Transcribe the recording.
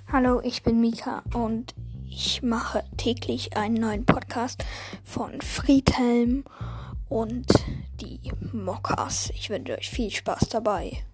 Hallo, ich bin Mika und ich mache täglich einen neuen Podcast von Friedhelm und die Mockers. Ich wünsche euch viel Spaß dabei.